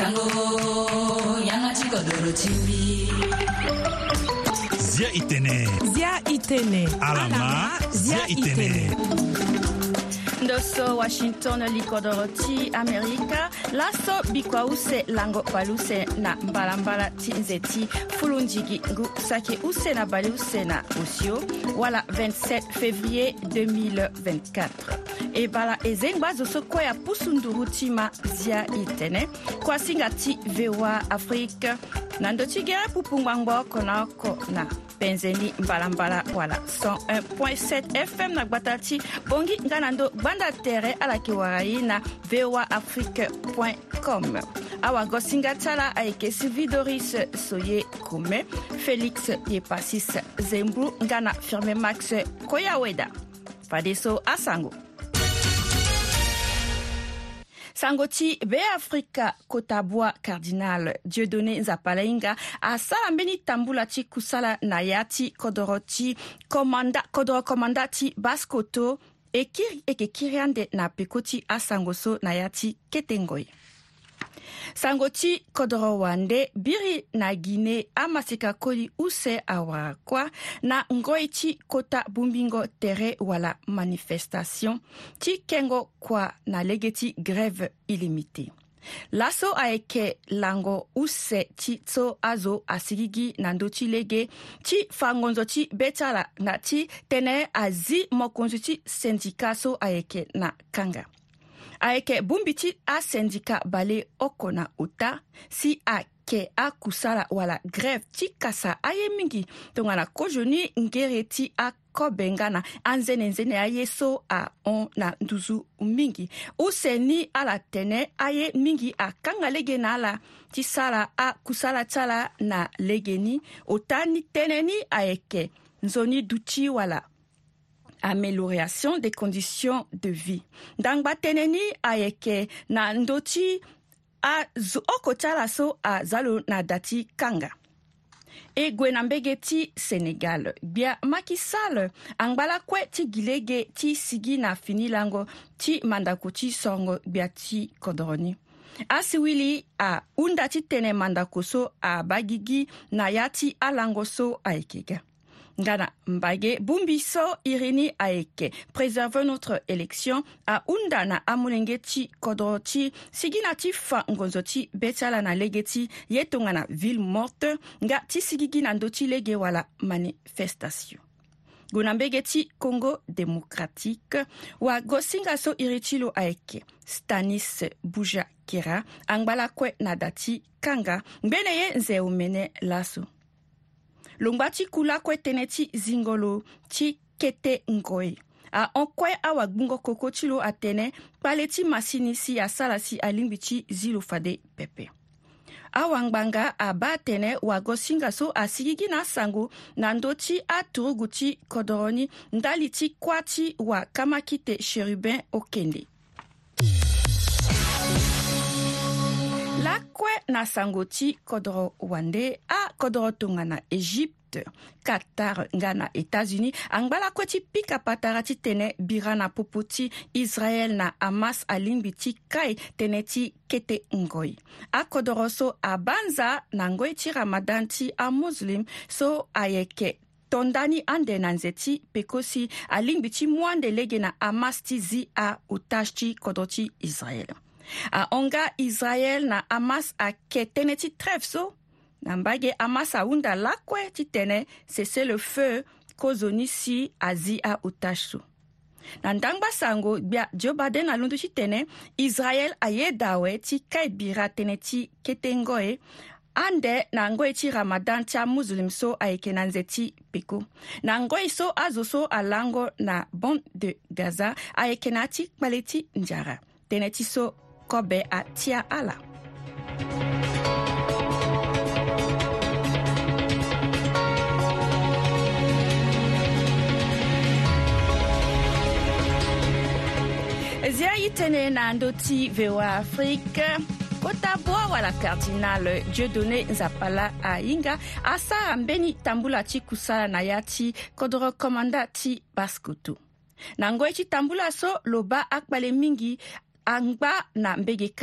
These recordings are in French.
Sango yanga chiko doro chimbi. Zia itene. Alama Zia itene. Ndoso Washington likodoroti Amerika laso bikwa use lango baluse na mbalambala tinzeti fulunjigi ngu sake use na bali use na usio wala 27 février 2024 e bala ezengba zoso kwa ya pusundurutima Zia itene kwa singati VOA Afrique nandochigera pupungwangbo konako na penzeni mbalambala wala 101.7 FM na gbatati bongi nganando banda tere ala kiwarai na voaafrique.com awa gosinga tala aike Sylvie Doris Soye Koume Félix Yepasis Zembru ngana firme Max Koyaweda Fadeso Asango Sangoti be Afrika Kotabwa Cardinal Dieudonné Nzapalainga asala mbeni tambulati kusala nayati kodoroti kodoro komandati baskoto eke kiriande na pekoti asangoso nayati ketengoi. Sangoti kodoro wande biri na Guinée amasika koli use awakwa na ngoichi kota bumbingo tere wala manifestation ti kengo kwa na legeti grève illimitée. Laso aeke lango use ti tso azo asigigi nandoti lege ti fangonzo ti betala na ti tene azi mokonzo ti syndicat so aeke na kanga. Aeke bumbiti a syndicat bale okona uta si ake a kusala wala grève ti kasa aye mingi tongana kojoni ngereti a kobengana anzene aye so a on na nduzu mingi useni ala tene aye mingi a kanga lege na ala ti sala a kusala tala na legeni otani teneni aeke nzoni duti wala amélioration des conditions de vie. Dangba teneni ayeke na ndoti a okotala so a zalo na dati kanga. E gwenambege ti Sénégal. Bia Macky Sall angbala kwe ti gilege ti sigi na finilango ti mandako ti songo bia ti kodroni. Asiwili a unda ti tene mandako so a bagigi na yati alango so aikega. Ngana mbage bumbiso irini aeke préserver notre élection a unda na amulengeti kodroti sigina ti fa ngonzoti betala na legeti yetonga na ville morte nga ti sigigi na ndoti lege wala manifestation. Gonambegeti Congo démocratique wa gosinga so iritilo aeke Stanis Buja Kera angbala kwe na dati kanga mbeneye nze umene laso. Longwati kula kwe teneti zingolo ti kete ngoi. A onkwe awa bungo kokotilo atene paleti masinisi ya salasi alimbiti zilufade pepe. Awangbanga abatene wagosinga so asigigi na sango na ndoti aturuguti kodoroni ndaliti kwati wa kamakite cherubin okende. Lakwe na sangoti kodoro wande a kodoro tonga na Egypte, Qatar ngana États-Unis angbala kweti pika patarati tene birana popoti Israël na Hamas alimbiti kai teneti kete ngoi. A kodoro so abanza na ngoi ti Ramadan ti a muslim so ayeke tondani ande nanzeti pekosi alimbiti mwande lege na Hamas ti zi a utashti kodoti Israël. A onga Israël na Hamas a ketene ti trêve so nambage Hamas a unda lakwe ti tene cesse le feu kozoni si azi a otage so. Nandangba sango bia Joe Biden a lundu ti tene Israël a ye dawe ti kait bira tene ti ketengoe ande na ngoi ti Ramadan ti a muslim so a eke na nzeti peko. Na ngoi so azo so a lango na bande de Gaza a eke na ti kpale ti njara. Tene ti so kobe a tia ala. Zia itene na ndoti VOA Afrique Kotabwa wala Cardinal Dieudonné Nzapala Ainga asa mbeni tambula ti kusala na yati kodoro komanda ti baskoto. Nangoe ti tambula so loba akbale mingi angba na mbegeka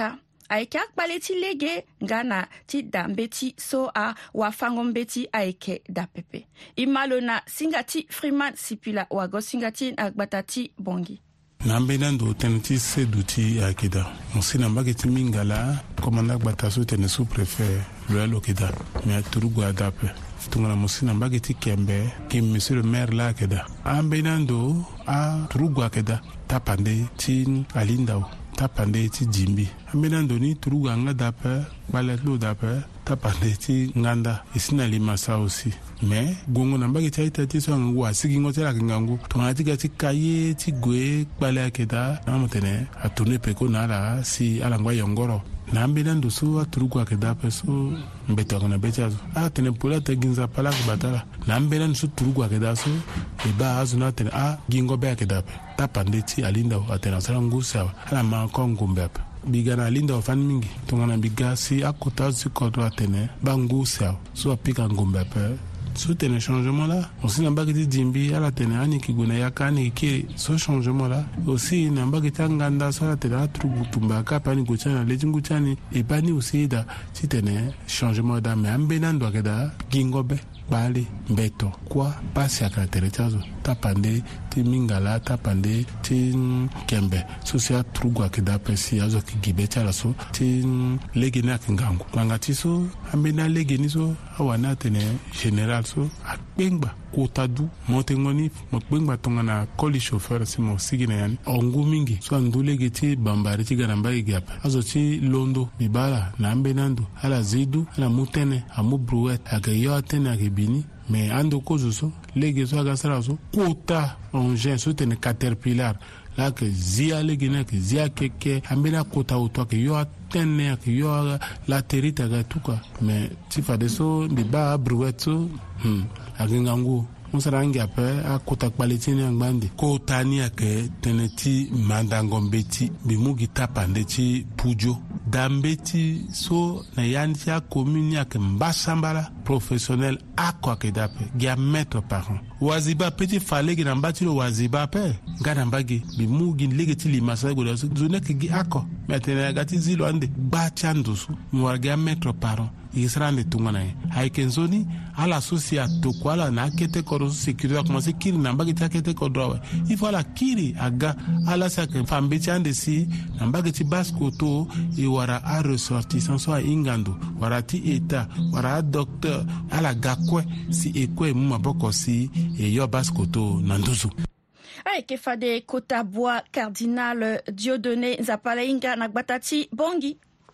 ayeke akpale ti lege nga na ti dambe ti so awafango mbeti ayeke dapepe i ma lo na singa ti Freeman Sipila wago singa ti na gbata ti bongi na mbena ndo tene ti sedu ti akeda mosi na mbage ti mingala komanda gbata so tene sous-préfet lo lokeda me aturugu adape tungana mosi na mbage ti kembe ki monsieur le maire la akeda ambena ndo a turugu akeda tapande ti alindao tapande ti jimbi ambena ndo ni turugu anga dape balet lo dape tapande ti nganda isina limasa aussi mais gongo na mbage ti aita ti so ngangu asigi ngo ti la ngangu tongana ti ga ti kaye ti gue kpale akeda na motene a tourner peko na ala si ala ngwa yongoro na ambena ndo so aturugu akeda pe so mbeto na becha a tene pola te ginza pala ko batala na ambena ndo so turugu akeda so e ba azu na tene a gingo be akeda pe tapande ti alinda atena sala ngusa ala ma ko ngumbe pe bigana linda ofan mingi tongana biga si akota si kodro atene bangu sa so apika ngumbe pe so tene changement là aussi na mbagi jimbi ala tene ani kiguna yakani ki so changement là aussi na mbagi tanganda so ala tene atrugu tumba ka pani kuchana lejingu chani e pani aussi da si tene changement da me ambena ndo akeda gingobe bali mbeto kwa pasi akatere chazo tapande ti mingala tapande ti kembe so si atrugu akeda pesi azo kigibe chala so ti lege na kingangu nganga ti so ambena lege ni so awana tene general so akpengba kotadu motengoni mokpengba tongana koli chauffeur si mo sigina yani ongu mingi so andulege ti bambari ti garamba igapa azo ti londo bibala na ambenando ala zidu ala mutene amu brouette akayo atene akebini mais ando kozo so lege so agasara so kota engin so tene caterpillar la que zia legene que zia keke ambena kota auto que yo atene que yo la terita ga tuka mais ti fa de so de ba brouette so agingangu musarangi ape akota kpaletini angbandi kota ni ake teneti mandangombeti bimugi tapande ti pujo dambeti so na yanti a commune ake mbasambala professionnel ako ake dape gia mètre par an waziba petit falegi na mbati lo waziba pe ngana mbagi bimugi lege ti limasa go so zone ke gi ako metene gati zilo ande ba chandusu mwarga mètre par an Israël tungana haikenzoni ala sosia tokwala na kete koro sécurité commencer kiri na mbagi ta kete kodro il faut la kiri aga ala sa ke fambe chande si na mbagi ti baskoto e wara a ressortissant so ingando wara ti eta wara docteur ala gakwe si ekwe mu maboko si e yo baskoto na nduzu ayeke fade Kotaboa Cardinal Dieudonné Nzapalainga na gbata ti bongi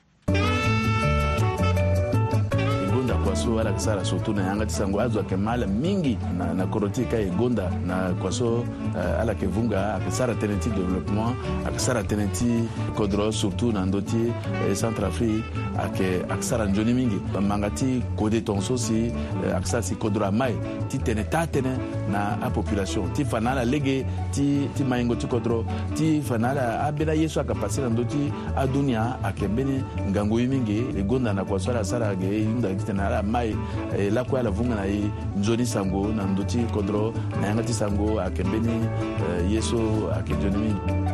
kwaso ala kisara surtout na yanga tisango azo ke mala mingi na korotika e gonda na kwaso ala ke vunga akisara tenenti développement akisara tenenti kodro surtout na ndoti Centrafrique akisara njoni mingi mangati kode tonso si akisara si kodro mai ti teneta tene na a population ti fanala lege ti maingo ti kodro ti fanala abela yeso akapasira ndoti adunia akembeni ngango mingi e gonda na kwaso ala sara ge inda kitena mai la kwa la vunga na nzoni sango na ndoti kodro na yanga ti sango akembeni yeso akenjoni mingi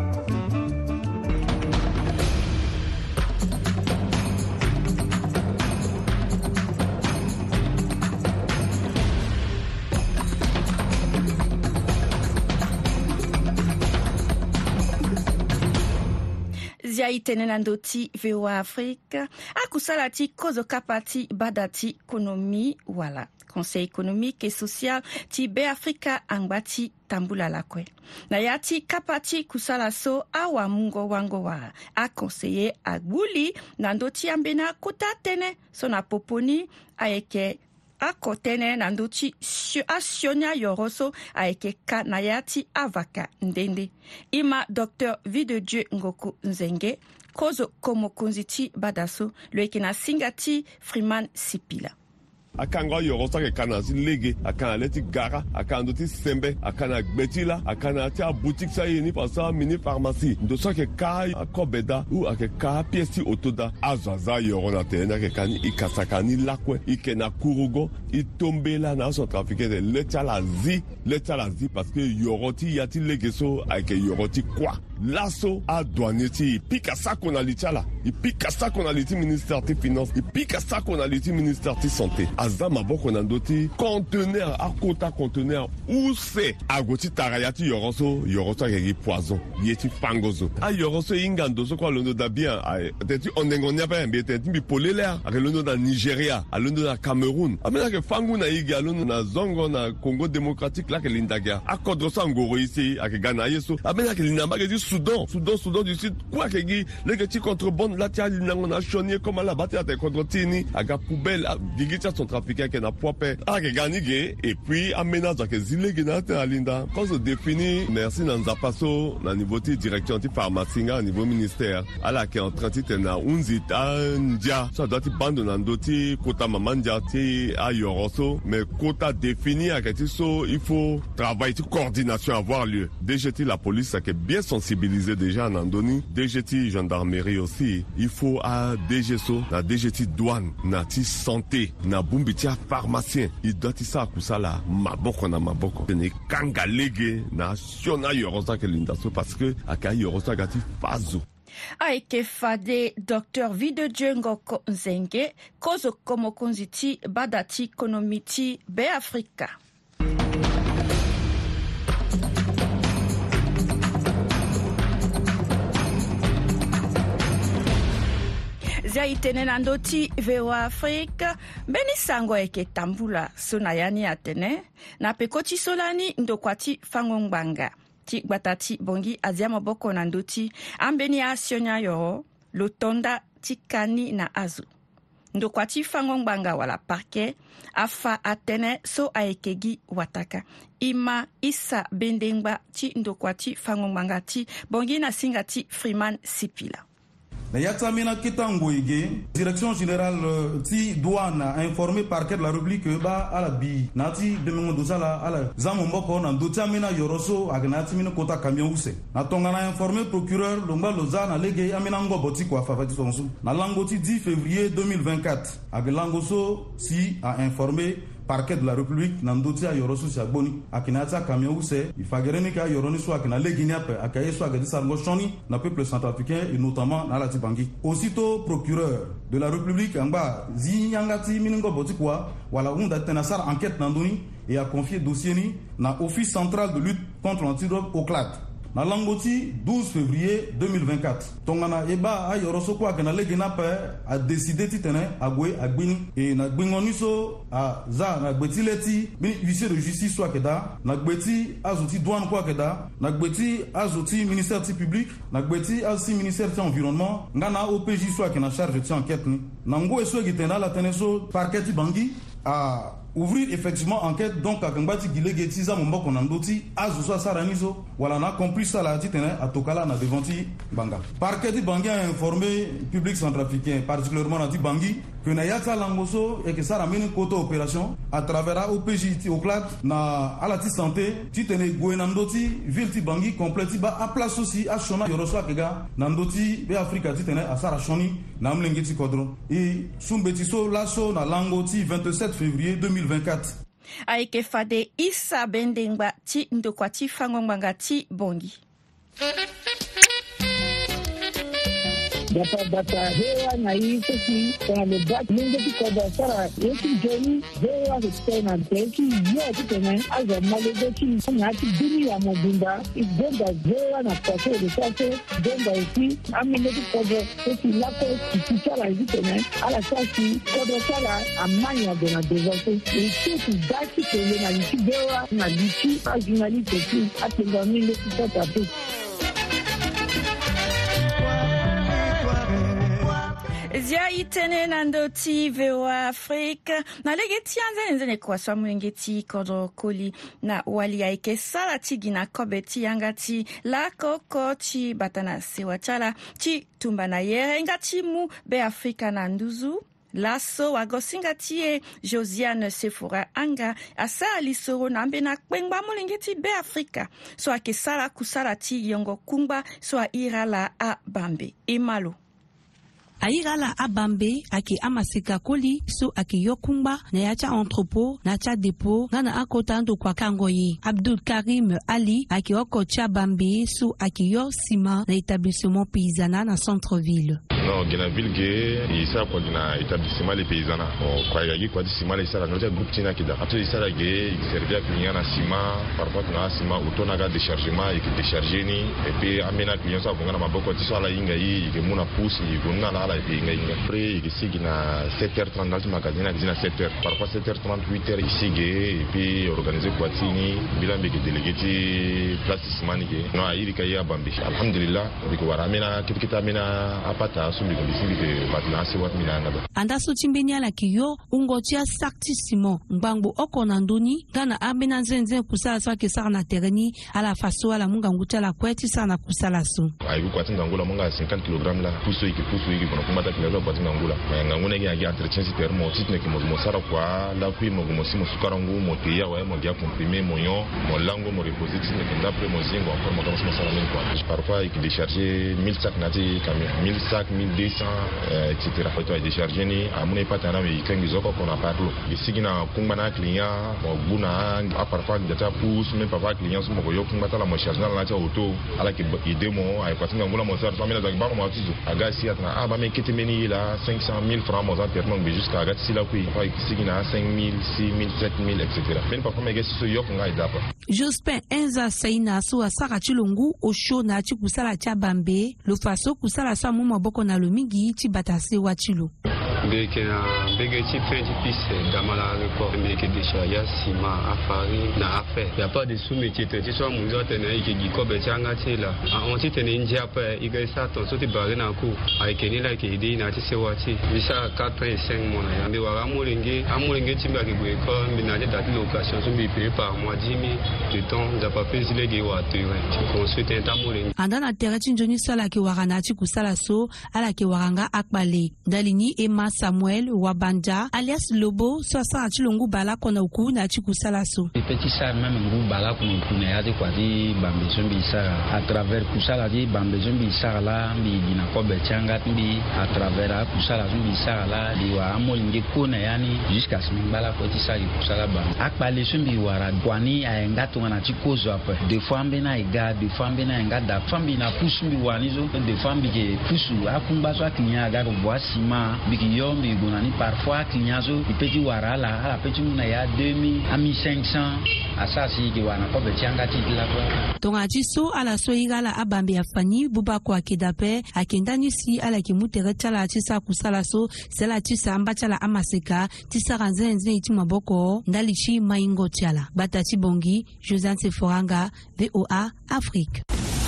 zia itene na ndoti VOA Afrique akusala ti kozo kapati badati économie wala Conseil économique et social ti Be-Afrika angbati tambula lakwe. Na yati kapati kusala so awa mungo wango wa a conseiller agbuli na ndoti ambena kuta tene so na poponi ayeke akotene na ndoti asionia yoroso ayeke ka na yati avaka ndende. Ima Dr. Videdieu Ngoku Nzenge kozo komo konziti badaso loeke na singati Freeman Sipila. Akanga yorosa ke kana si lege akana leti gara akana ti sembe akana gbetila akana ti a boutique sa yeni pasa mini pharmacie ndo so ke ka akobeda ou ake ka pièce otoda azaza yorona tena ke kani ikasakani lakwe ikena kurugo itombela na so trafiquer de letala zi parce que yoroti yati lege so ake yoroti kwa lasso a douanier ti pika sa qu'on a l'itala i pika sa qu'on a l'iti ministère des finances i pika sa qu'on a l'iti ministère de santé azama boko na ndoti conteneur a kota conteneur où c'est agoti tarayati yoroso yagi poison yeti pangozo a yoroso ingando so kwa londo da bien teti onengonya pa mbi teti mbi polelea a londo da Nigeria a londo da Cameroun amena ke fangu na igi a londo na zongo na Congo démocratique la ke lindaga a kodrosa ngoro ici a ke Ghana yeso amena ke linamba ke di Soudan du Sud quoi ke gi le ke ti contrebande la tia linango na chonier comme la batte à te kodrotini a ga poubelle a digita son trafiquant ke na poipe a ke ganige et puis amena za ke zile ke na te alinda quand se définit merci na nzapaso na niveau ti direction ti pharmacie au niveau ministère ala ke en train ti na unzita ndia ça doit ti bando na ndoti kota mamandia ti a yoroso mais kota défini a ke ti so il faut travailler ti coordination avoir lieu DGT la police a ke bien sensibilisé déjà en Andoni DGT gendarmerie aussi il faut à DGSO na DGT douane na ti santé na bumbiti a pharmacien il doit ti sa kusala maboko na maboko ne kanga lege na siona yorosa ke lindaso parce que aka yorosa gati fazo aike fade Dr. Videdieu Ngoko Nzenge kozo komo konziti badati konomiti be Afrika. Zia itene na ndoti VOA Afrika beni sango eke tambula sonayani atene na pekoti solani ndokwati fangongbanga ti gbatati bongi azia maboko na ndoti ambeni asionya yo lotonda tikani na azu ndokwati fangongbanga wala parke afa atene so aekegi wataka ima isa bendengba ti ndokwati fangongbanga ti bongi na singati Freeman Sipila. Na Yatsamina Kitangoige, direction générale ti douane a informé parquet de la République ba à la bi nati demengo dosala ala zamomboko na ndotamina yoroso agnati mina kota camion use na tonga na informé procureur lomba lozana lege amina ngoboti kwa fafati sonsu na langoti 10 février 2024 aglangoso si a informé parquet de la République nandoti a yorosu siagboni akinata camion use ifagereni ka yoroni so akina legini ape akaye so agadi sargo shoni na peuple centrafricain et notamment na la Tibangi. Aussitôt procureur de la République anga zinyangati miningo botikwa wala unda tenasar enquête nandoni et a confié dossier ni na office central de lutte contre l'antidrogue au CLAD. Na langoti 12 février 2024 tongana eba a yoroso kwa kana legina pa a décidé titene agwe agbini et na gbingoniso a za na gbetileti bi huissier de justice soit keda na gbeti azuti douane kwa keda na gbeti azuti ministère ti public na gbeti azuti ministère ti environnement ngana OPJ soit kena charge ti enquête ni nango eso gitena la teneso parquet ti Bangui a ouvrir effectivement enquête donc à Kambati Gilegeti za Momboko Nandoti azuso saraniso wala na compris ça la titene à Tokala na devanti Banga. Parquet di Bangui a informé public centrafricain particulièrement na di Bangui que na yata langoso et que ça ramène côté opération à travers OPJ au CLAD na alati santé titene Gouenandoti ville ti Bangui complète ba a place aussi à Shona Yoroso Akega Nandoti be Afrika titene à Sara Shoni na mlengeti kodro et sumbetiso laso na langoti 27 février 2024. Aike fade isa bendengba ti ndokwati fangongbanga ti bongi. Data hewa na hizo ki kwa lebat mungo ki kwa sara yeki joni hewa hutena teki yote tena aza malego ki nyati dini ya mobimba igomba hewa na kwa de sase gomba isi amene ki kwa teki lako kichara hizo tena ala sasi kwa sala amanya de na devote isi daki tele na liki hewa na liki ajunali teki atenga mingo ki kwa tapu. Zia itene nandoti VOA Afrika na legeti anzene kwa swamu ngeti kodo koli na wali aike sala tigina kobeti yangati la koko ti batana sewachala ti tumba na yere ngati mu be Afrika na nduzu laso wagosinga tie Josiane Sephora anga asa alisoro nambe na kpengba mulingeti be Afrika so ake sala kusala ti yongo kumba so a irala a bambe imalo. aigala abambe ake amaseka koli so ake yokumba na yacha entrepôt na cha dépôt ngana akota ndo kwa kangoye. Abdul Karim Ali ake oko cha bambe so ake yo sima na établissement paysanat na centre-ville. Non, gena ville ge isa kwa gena établissement les paysanat. Kwa yagi kwa di sima les sala ngoja groupe tina kida. Ato isa ge servir client na sima, parfois na sima utona ga déchargement et décharger ni et puis amena client sa bongana maboko ti sala inga yi ke muna pousse yi gonna la inga après ici gena 7h30 dans le magasin na gena 7h. Parfois 7h30 8h ici ge et puis organiser kwa tini bila mbeke délégué ti place sima ni ge. No ayiri ka ya bambi. Alhamdulillah biko waramena kitkita mena apata anda so chimbeni ala kiyo ungotia saktissimo ngbango okona ndoni gana abena nzenze kusala so ke sara na tereni ala faso ala munga nguta la kweti sana kusala so ayi kwati ngangula munga 50 kg la puso iki kono kumata kilo kwati ngangula nganguna gi entretien si termo titne ki mo sara kwa la kui mo simo sukarangu mo teya wa mo dia comprimer mo yon mo lango mo reposer titne ki d'après mo zingo encore mo commence mo sara men quoi parfois il décharger 1000 sacs nati camion 1000 sacs 1200 etc. Faut décharger ni amune patana mais quand ils ont qu'on a parlé ici na kumbana client mo buna a parfois data pousse même parfois client so mo yo kumbata la mo charge na la auto ala ki ide mo ay patinga ngula mo sar famille za ba mo atizo aga si atna ba me kete meni la 500,000 francs mo za perno mais jusqu'à aga si la kui fa ici na 5,000 6,000 7,000 etc. même parfois me gesi so yo nga idapa Jospin Enza Saina so asara chilungu osho na chikusala cha bambe lo faso kusala sa mu maboko na lomingi ti batase wa chilo Beke na bege ti fin ti pisse damala report meke déjà ya sima afari na affaire y a pas de sous-métier ti so mu zo tene ike gi ko be changa ti la on ti tene ndia pa ike sa ton so ti bare na ku ai ke ni la ke ide na ti se wa ti bisa 4 et 5 mois ya me wa amulenge ti ba ke go ko mi na date location so bi payer par mois 10,000 de temps za pas fait le ge wa tu construit un tamulenge andana tereti njoni sala ke warana ti kusala so ala ke waranga akbale dalini ema Samuel Wabanja alias Lobo sosa chilungu bala kona uku na chikusala so petit ça même ngu bala kona uku na yadi kwa di bambe zombi sara à travers kusala di bambe zombi sara la mbi dina ko be changa mbi à travers kusala zombi sara la di wa amolinge kona yani jusqu'à ce bala ko ti sa kusala ba akbale zombi wara kwani ayenga to na chikozo apa de fois mbena iga de fois mbena enga da fambi na pusu mbi wani zo de fambi ke pusu akumba so akinya ga ko boisima biki yombi gonani parfois kinyazo ipeti warala ala peti muna ya 2000 à 1500 asasi ki wana ko be tianga titla kwa tonga jiso ala so igala abambe afani buba kwa kidape akendani si ala kimutere tala tisa kusala so sela tisa ambachala amaseka tisa ranzenze iti maboko ndalichi maingo tiala batati bongi Josante Foranga VOA Afrique.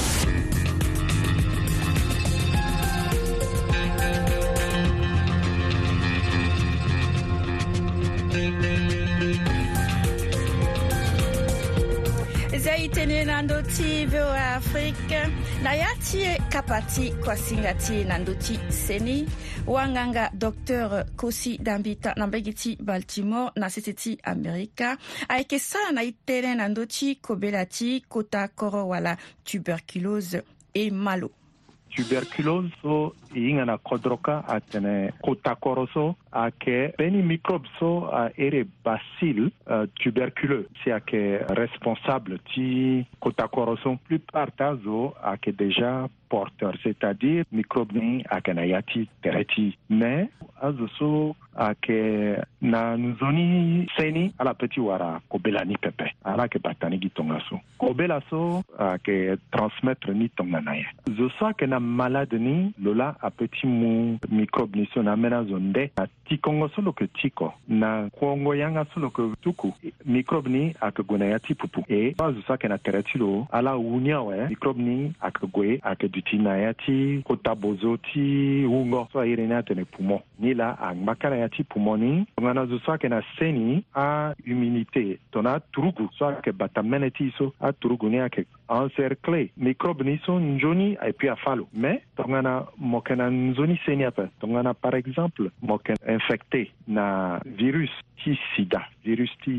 Zaitene nandoti VOA Afrique na yatie kapati kwa singati nandoti seni wanganga Dr. Kosi Dambita nambegiti Baltimore na sititi Amerika aike sana na itene nandoti kobelati kota koro wala tuberculose e malo tuberculose so inga na kodroka atene kota koroso ake beni microbe so ere bacille tuberculeux si ake responsable ti kota koroso plupart tazo ake déjà porteur, c'est-à-dire microbe ni ake na yati tereti mais azo so ake na nzoni seni ala peti wara kobela ni pepe ala ke batani gitonga so kobela so ake transmettre ni tonga na ye zo so ake na malade ni lola a petit mu microbe ni so na mena zonde a tikongo solo ke tiko na kongo yanga solo ke tuku microbe ni ake gona ya tipupu e zo so ake na tereti lo ala unia we microbe ni ake goe ake dutina ya ti kotabozo ti ungo so ire na tene poumon ni la angmakana ya ti poumon ni ngana zo so ake na seni a immunité tona turugu so ake batameneti so a turugu ni ake encercler microbe ni so njoni et puis a falo mais tongana mokena nzoni seni apa tongana par exemple moken infecté na virus ti sida virus ti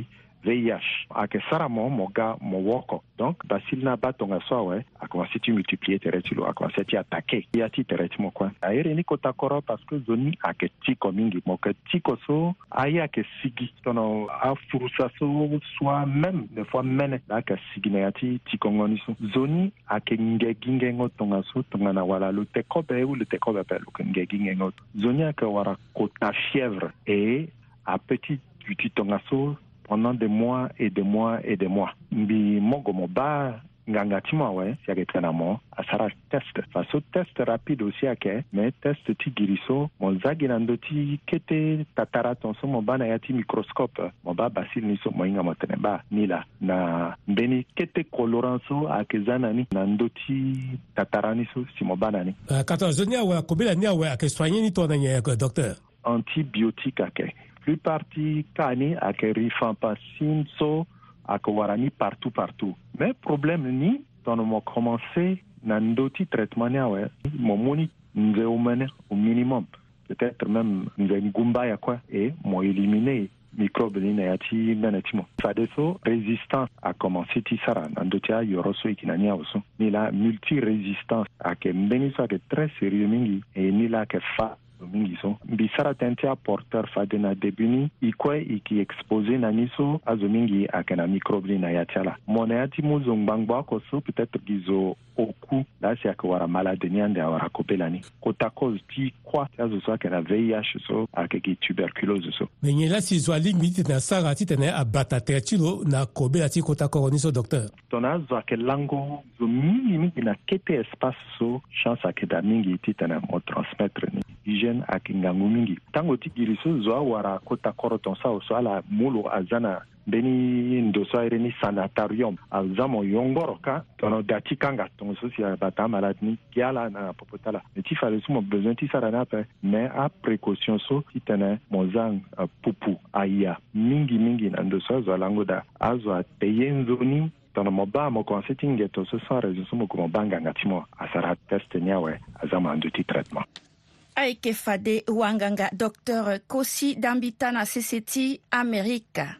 VIH ake sara mo ga mo woko donc bacille na batonga so a commencé à multiplier terretulo a commencé à attaquer ya ti terretulo quoi aere ni kotakoro parce que zoni ake tiko mingi mo ke tiko so aya ke sigi tono a furusa so soit même des fois mene la ka sigi na ti tiko ngoni so zoni ake ngeginge ngotonga so tonga na wala le tekobe ou le tekobe pe le ngeginge ngot zoni ake wara kota fièvre et à petit tonga so pendant des mois et des mois et des mois. Mbi mongo moba nganga timo ya ketana mo asara test. Faso test rapide aussi ake, mais test ti giriso monzagi nandoti kete tatara tonso moba na yati microscope. Moba basil niso moinga moteneba nila na mbeni kete coloranso akezana ni nandoti tatara niso si moba nani. Katazonia wa kobela ni wa ake soigner ni to na docteur. Antibiotique ake. Plus parti kani ak rifampicine so ak warani partout mais problème ni dans mo commencé nandoti traitement ni mo moni nzeumene au minimum peut-être même ngumba ya quoi et mo éliminer microbe ni na yati menatimo fadeso résistance a commencé tisara nandotia yoroso ikinania oso ni la multi résistance ak mbeni so ak très sérieux mingi et ni la ke fa mingi so bisara tentia porteur fadena debuni ikwe iki exposé na niso azomingi akena microbe na yatiala monayati muzo ngbangba ko so peut-être gizo oku la si akwara malade nyande awara kopelani kota cause ti kwa azo so akena VIH so akeki tuberculose so menye la si zo limite na sara ti tene abata tertilo na kobela ti kota ko ni so docteur tona zo akelango zo mingi na kete espace so chance akeda mingi ti tene mo transmettre ni hygiène akingangu mingi tango ti giriso zo awara kota koroton sa so ala mulo azana beni ndoso ireni sanatorium azamo yongoro ka tono dati kanga ton so si bata malade ni kiala na popotala ti fale sumo besoin ti sarana pe mais a précaution so ti tene mozang pupu aya mingi na ndoso zo langoda azo teyenzoni tono moba mo consulting to so sans raison sumo ko banga ngatimo asara test nyawe azama andoti traitement Aike fade wanganga Dr. Kosi Dambitana CCT America.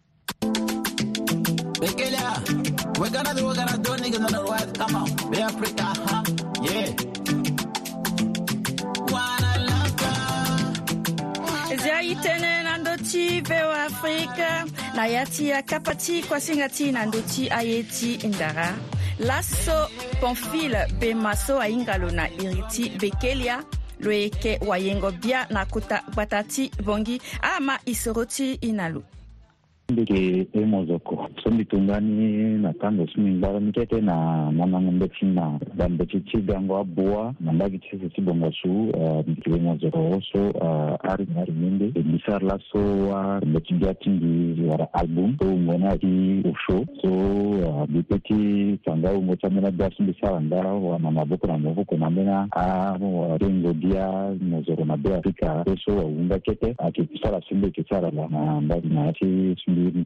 We're gonna do niggas on the right. Come on, be Africa, huh? Yeah. Zaitene nandoti veo Afrika na yati ya kapati kwa singati nandoti ayeti indara. Lasso Pamphile Bemaso aingalo na iriti Bekelia. Loeke wayengo bia na kuta batati bongi ama isoroti inalu. Ndike emozoko sombi tungani na tango sumingara mikete na mama ngombechi na bambechi chigango abua na ndagi chisi chibongo su mkiwe mozoko so ari minde bisar la so wa mbechi gatingi wara album so ngona ki usho so bipeti tanga ungocha mena dasu bisara ndara wa mama boko na moko na mena rengo dia mozoko na bea Afrika so wa unga kete akisara sumbe kisara la ndagi na ati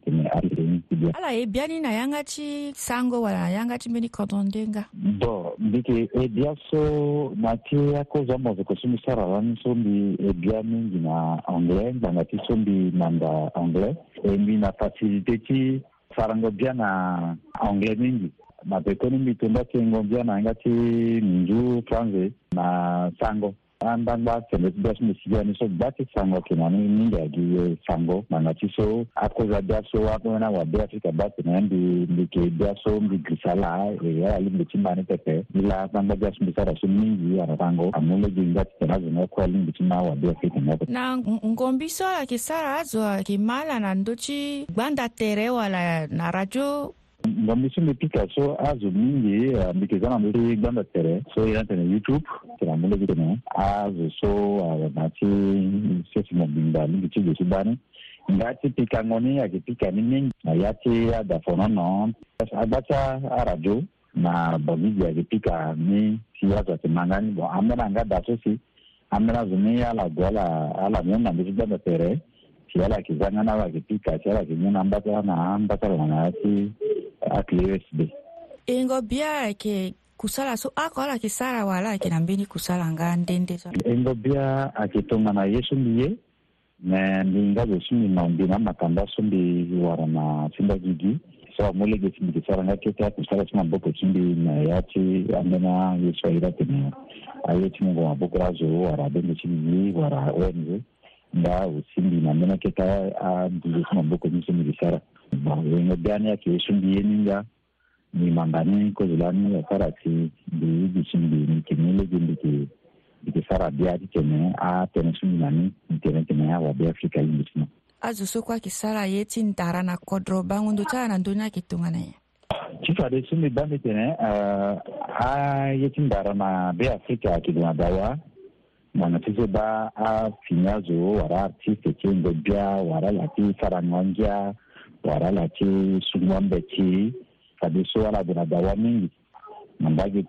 ala ebiani na yangachi sango wala yangachi meni kodondenga bo ndike ebiaso mati yako zamo zako sumi sara wani sombi ebiani ngina anglais ngati sombi manda anglais embi na facilité ti sarango bia na anglais mingi mapekoni mitumba kengo bia na ngati minju français na sango andamba tele das misiani so bati sango kinani ninga gi sango mangati so akoza daso wapo na wa Afrika bati na ndike daso mbigisala ya limbitimani pepe ila banga das misara so mingi ya rango amule ginga terazo na kwa limbitima wa Afrika na ngombiso ya kisara azo kimala na ndochi banda tere wala na radio ngombiso mipika so azo mingi mbikizana mbili ganda tere so ya tene YouTube tena mule bitene azo so nati sisi mbinda mingi chigo subani ngati pika ngoni akipika ni mingi yati ada fonono abacha radio na bobiji akipika ni siasa temangani bo amena ngada sosi amena zumia la gola ala nyonga mbijanda tere siala kizanga na wakipika siala kinyana ambata na ambata na ati USB. Ingo bia ke kusala so akola kisara wala kinambini kusala ngandende so. Ingo bia akitonga na Yesu ndiye mais ndinga zo sumi mandina makanda sombi warana simba gigi so molege simbi saranga keta kusala sima boko simbi na yati amena yeswaira tena ayeti mungu maboko razo wara bende simbi wara wenze nda usimbi na mena keta a ndizo sima boko simbi sara ba wengo gani yake simbi yeninga ni mambani ko zulani ya karati ndi simbi ni kimele gindi ki sara bia tene a tene simbi nani tene wa bia Afrika yindisina azuso kwa kisara yeti ndara na kodro bangu ndocha na ndonya kitungana ya chifa de sumi bande tene a yeti ndara na bia Afrika kiduna dawa na tizo ba a finyazo wara artiste chengo bia wara lati saranganja wara lati sumwambeti kabiso wala duna dawa mingi nambagi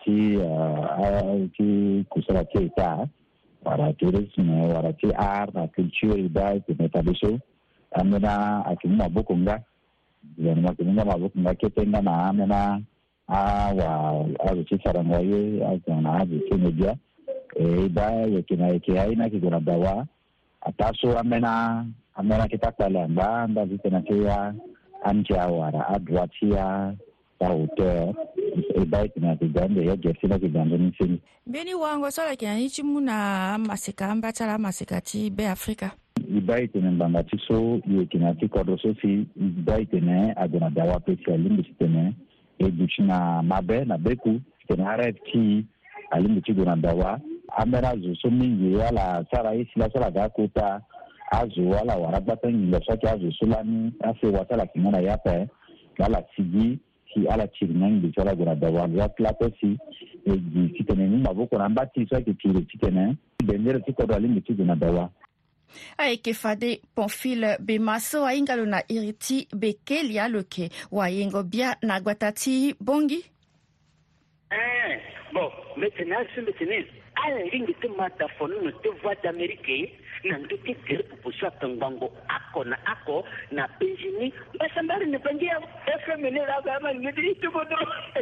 ti kusala ta wara tourisme wara ti art na culture idai tene kabiso amena akimwa bokonga yani makinga mabokonga ketenga na amena wa azisarangaye azana azisemedia ba yakina yaina kigona dawa ataso amena kitakala mbanda vitena kia anja wara adwatia auteur ba itina kigande ya jersina kigande nisini beni wango sola kinanichi muna masika ambatala masikati be Afrika ibaitene mbangatiso yekinati kodoso si ibaitene agona dawa pesi alimbi tene educhina mabe na beku tene RFT alimbi gona dawa amera zo mingi wala sara isi la sala gakuta azu wala warabata ngila saki azu sulani ase watala kimona yape wala sigi ki ala chirinangi sala gona dawa ya platosi edi tene ni maboko na mbati so ki tene bendere tikodo alimbi gona dawa Aike fade Pamphile Bemaso aingalo na iriti bekelia loke wayengo bia na gwatati bongi. Bon, maintenant ala ringi te matafonu no te voix d'Amérique na ndote kere pupusa tangango ako na Benjini basambari ne bangia FMN la gama ngidi tubodo.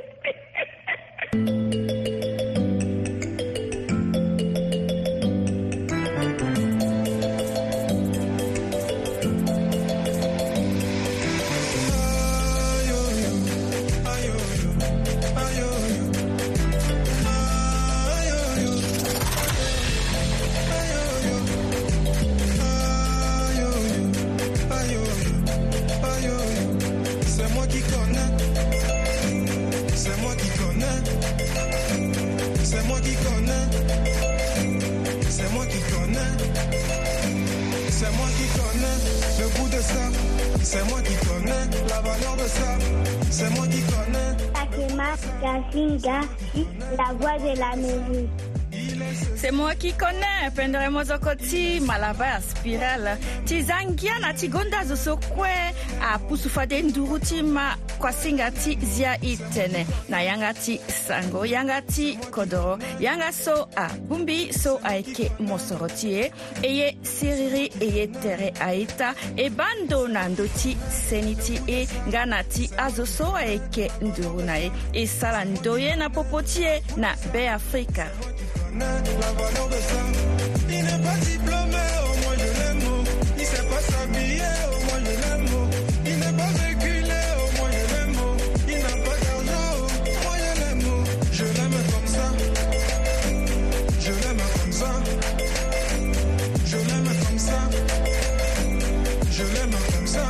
C'est moi qui connais la valeur de ça. C'est moi qui connais. Takema Gazinga, la voix de la musique. C'est moi qui connais pendere mozokoti malaba spiral tizangia na tigonda zosokwe a pusufade ndurutima kwa singati zia itene na yangati sango yangati kodoro yangaso a bumbi so aike mosorotie eye siriri eye tere aita e bando na ndoti seniti e nganati azoso aike ndurunae e sala ndoye na popotie na be Afrika. La valeur de ça. Il n'est pas diplômé, au moins je l'aime. Il sait pas s'habiller, au moins je l'aime. Il n'est pas véhiculé, au moins je l'aime. Il n'a pas d'argent, au moins je l'aime. Je l'aime comme ça. Je l'aime comme ça. Je l'aime comme ça. Je l'aime comme ça.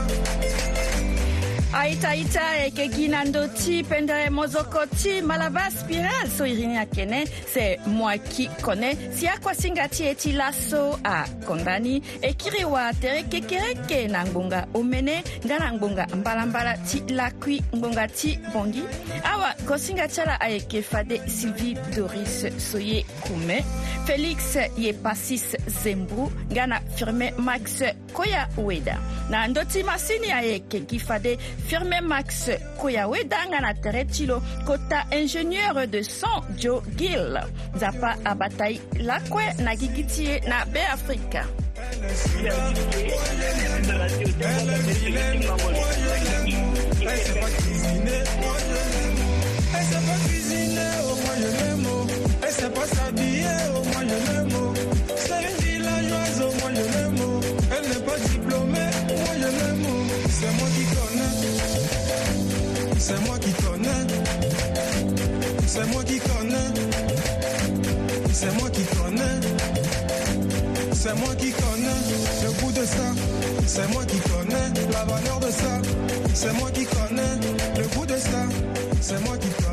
Aita eke ginandoti pendere mozokoti malaba spiral so irini akene c'est moi qui connais si akwa singati eti laso a kondani ekiriwa tereke kereke na ngbonga omene ngana ngbonga mbalambala ti lakui ngbonga ti bongi awa kosingati ala aeke fade Sylvie Doris Soye Kume Félix Yepasis Zembru ngana firme Max Koya Weda na ndoti masini aeke gifade firme Max Koyaweda ngana teretilo kota ingénieur de son Joe Gill zapa abatai lakwe na gigitie na be Afrika. Elle sait pas s'habiller, au moins je l'aime. C'est une villageoise, au moins je l'aime. Elle c'est moi qui connais. C'est moi qui connais. C'est moi qui connais le goût de ça. C'est moi qui connais la valeur de ça. C'est moi qui connais le goût de ça. C'est moi qui connais.